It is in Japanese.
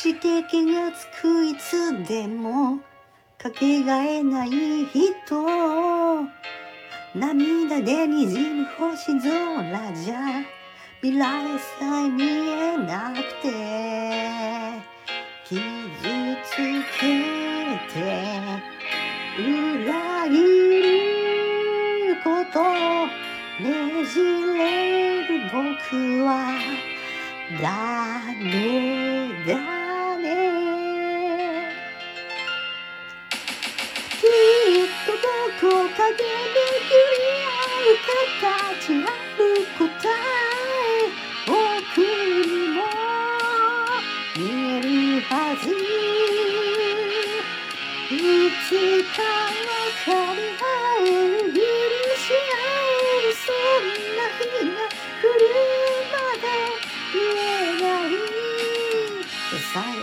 して気がつくいつでもかけがえない人、涙でにじむ星空じゃ未来さえ見えなくて、傷つけて裏切ることねじれる僕はダメだね。きっとどこかで巡り合う形ある答え、僕にも見えるはず。いつか分かり合える、許し合える、そんな日が来るまで言えないさよ